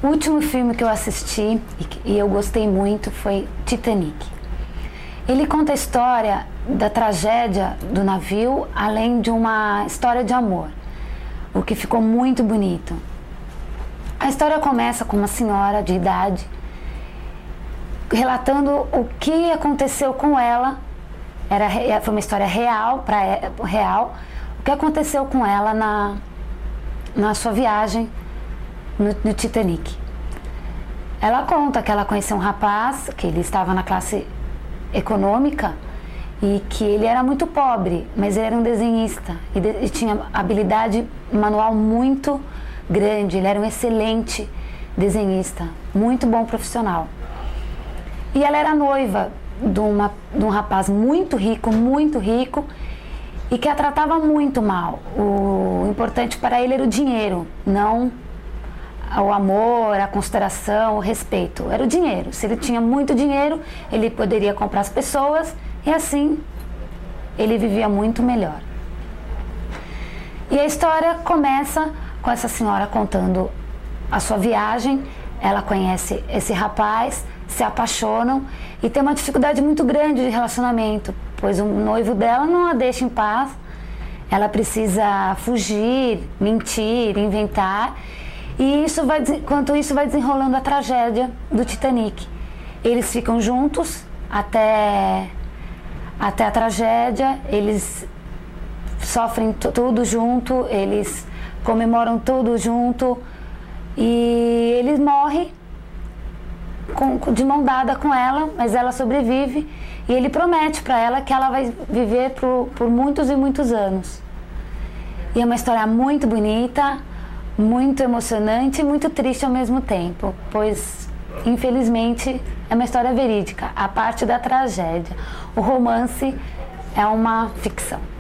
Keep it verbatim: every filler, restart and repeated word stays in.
O último filme que eu assisti e, que, e eu gostei muito foi Titanic. Ele conta a história da tragédia do navio, além de uma história de amor, o que ficou muito bonito. A história começa com uma senhora de idade relatando o que aconteceu com ela. Era, foi uma história real, pra, real, o que aconteceu com ela na, na sua viagem no, no Titanic. Ela conta que ela conheceu um rapaz, que ele estava na classe econômica e que ele era muito pobre, mas ele era um desenhista e, de, e tinha habilidade manual muito grande. Ele era um excelente desenhista, muito bom profissional. E ela era noiva de, uma, de um rapaz muito rico, muito rico, e que a tratava muito mal. O importante para ele era o dinheiro, não o amor, a consideração, o respeito. Era o dinheiro. Se ele tinha muito dinheiro, ele poderia comprar as pessoas e assim ele vivia muito melhor. E a história começa com essa senhora contando a sua viagem. Ela conhece esse rapaz, se apaixonam e tem uma dificuldade muito grande de relacionamento, pois o noivo dela não a deixa em paz. Ela precisa fugir, mentir, inventar. E isso vai, enquanto isso vai desenrolando a tragédia do Titanic. Eles ficam juntos até, até a tragédia, eles sofrem tudo junto, eles comemoram tudo junto e ele morre com, de mão dada com ela, mas ela sobrevive e ele promete para ela que ela vai viver por, por muitos e muitos anos. E é uma história muito bonita, muito emocionante e muito triste ao mesmo tempo, pois infelizmente é uma história verídica, a parte da tragédia. O romance é uma ficção.